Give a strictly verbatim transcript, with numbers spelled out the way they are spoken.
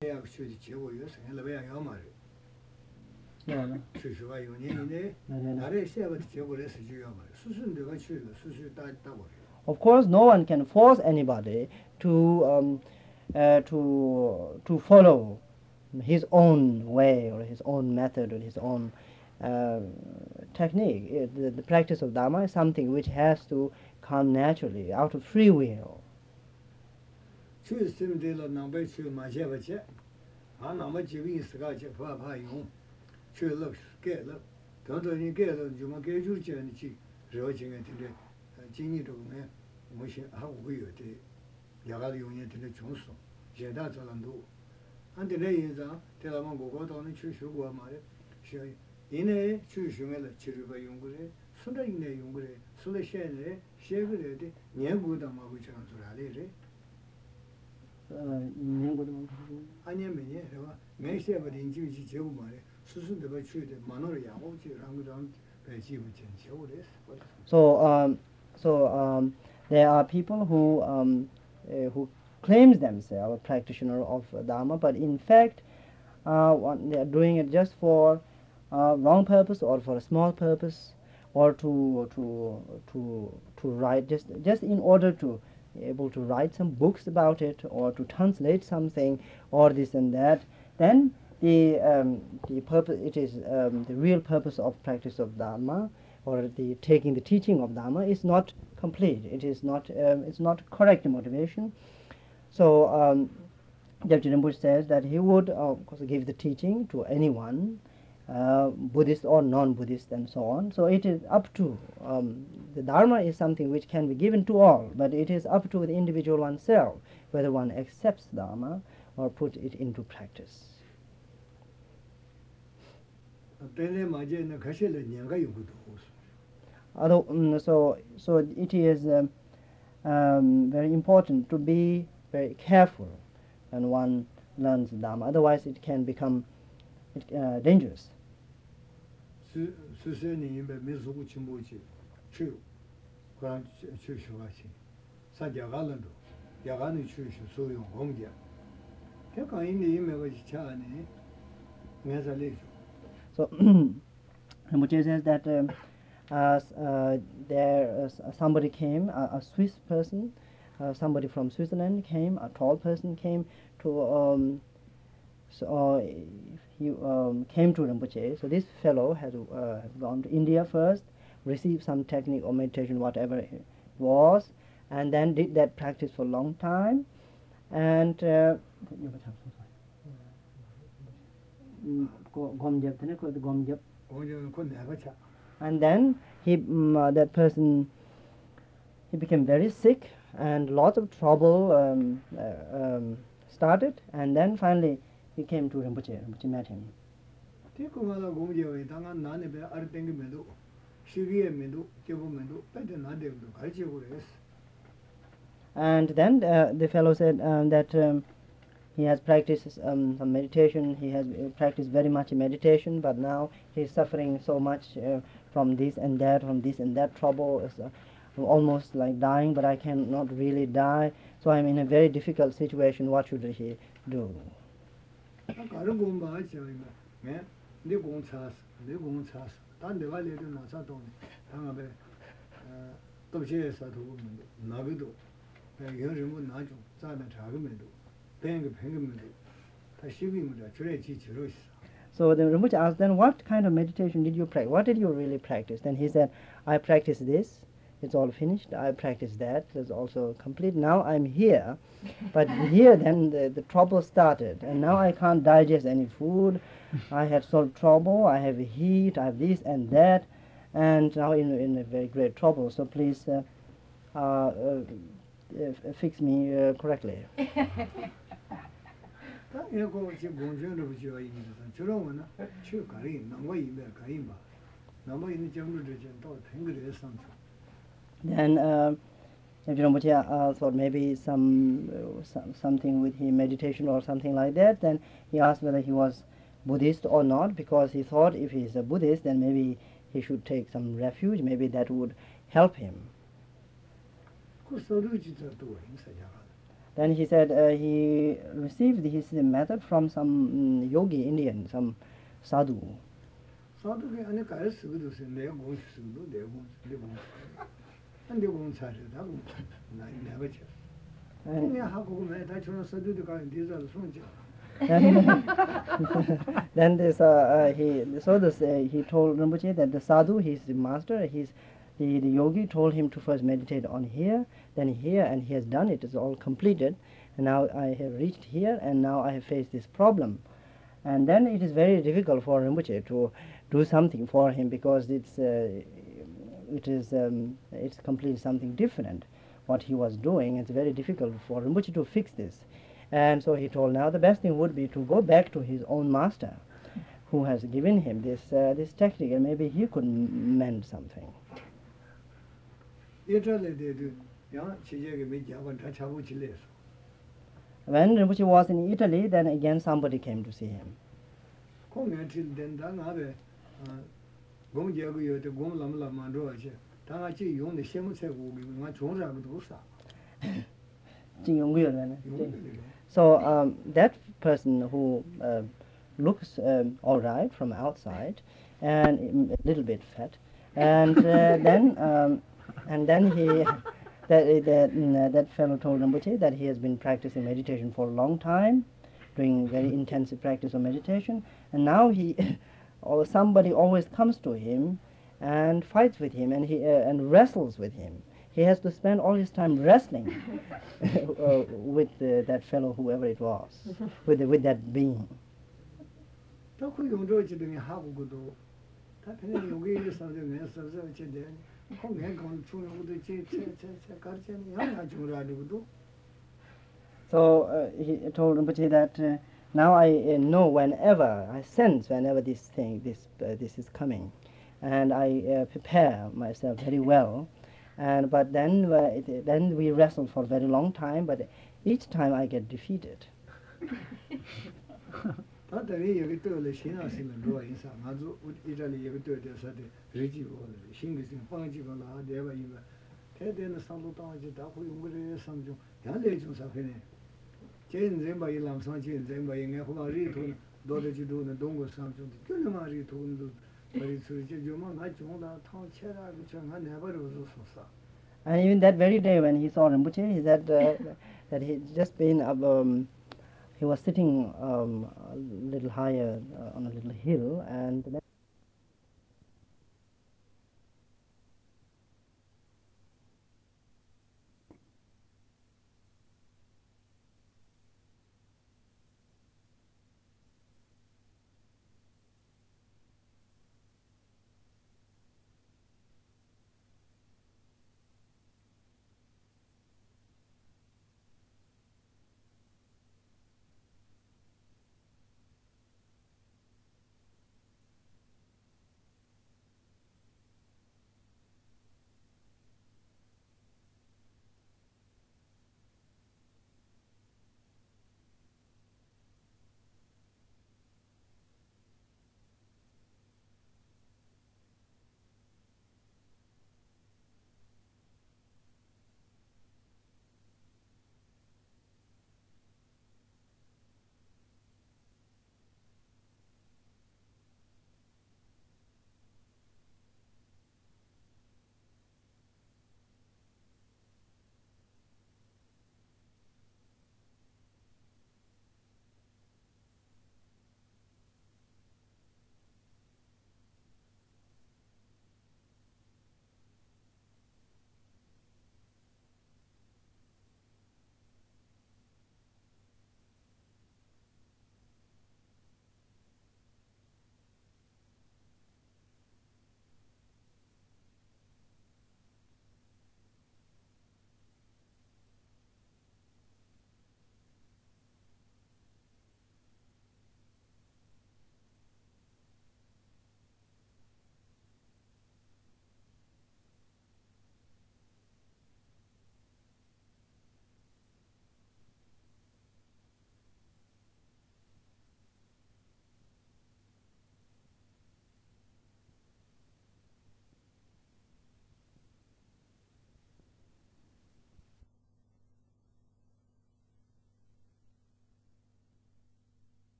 Of course, no one can force anybody to um, uh, to to follow his own way or his own method or his own uh, technique. It, the, the practice of Dharma is something which has to come naturally, out of free will. So, um, so um, there are people who um, uh, who claims themselves a practitioner of Dharma, but in fact, uh, one, they are doing it just for uh, wrong purpose or for a small purpose, or to to to to write just just in order to be able to write some books about it or to translate something or this and that. Then the um, the purpose it is um, the real purpose of practice of Dharma or the taking the teaching of Dharma is not complete. It is not um, it's not correct motivation. So um, Jagti Rinpoche says that he would uh, of course give the teaching to anyone, uh, Buddhist or non-Buddhist and so on. So it is up to um, the Dharma is something which can be given to all, but it is up to the individual oneself whether one accepts Dharma or put it into practice. Although, um, so so it is um, um, very important to be very careful when one learns Dharma. Otherwise, it can become it, uh, dangerous. So, Rinpoche says that um, uh, uh, there uh, somebody came, a, a Swiss person, uh, somebody from Switzerland came, a tall person came to, um, so uh, he um, came to Rinpoche. So this fellow had uh, gone to India first, received some technique or meditation, whatever it was, and then did that practice for a long time, and uh, and then he um, uh, that person he became very sick and lots of trouble um, uh, um, started, and then finally he came to Rinpoche. Rinpoche met him. And then uh, the fellow said um, that um, he has practiced um, some meditation, he has uh, practiced very much meditation, but now he is suffering so much uh, from this and that, from this and that trouble, is, uh, almost like dying, but I cannot really die, so I am in a very difficult situation. What should he do? So the Rinpoche asked, then what kind of meditation did you practice? What did you really practice? Then he said, I practiced this, it's all finished. I practiced that, it's also complete. Now I'm here, but here then the, the trouble started, and now I can't digest any food. I had some trouble, I have heat, I have this and that, and now in, in a very great trouble. So please uh, uh, uh, uh, fix me uh, correctly. Then uh, Rinpoche uh, thought maybe some, uh, some something with his meditation or something like that. Then he asked whether he was Buddhist or not, because he thought if he is a Buddhist, then maybe he should take some refuge. Maybe that would help him. Then he said uh, he received his method from some mm, yogi Indian, some sadhu. Sadhu ke ane kaya sugudu se ne gung sugudu de gung de gung. Ande gung sa re da gung na ne ba che. Ne ha ko me da chona sadhu de ka de za sung che. Then, then this uh, uh, he so this uh, he told Rinpoche that the sadhu, his master, his the, the yogi told him to first meditate on here, then here, and he has done it. It's all completed, and now I have reached here, and now I have faced this problem, and then it is very difficult for Rinpoche to do something for him because it's uh, it is um, it's completely something different what he was doing. It's very difficult for Rinpoche to fix this. And so he told, now the best thing would be to go back to his own master, who has given him this uh, this technique, and maybe he could m- mend something. When Rinpoche was in Italy, then again somebody came to see him. So um, that person who uh, looks um, all right from outside and a little bit fat, and uh, then um, and then he that that mm, that fellow told Rinpoche that he has been practicing meditation for a long time, doing very intensive practice of meditation, and now he or somebody always comes to him and fights with him and he uh, and wrestles with him. He has to spend all his time wrestling uh, with uh, that fellow, whoever it was, with the, with that being. So uh, he told Rinpoche that uh, now I uh, know whenever, I sense whenever this thing, this uh, this is coming, and I uh, prepare myself very well. And but then uh, it, then we wrestle for a very long time, but each time I get defeated. And even that very day when he saw Rinpoche, he said uh, that he just been up, um, he was sitting um, a little higher uh, on a little hill, and then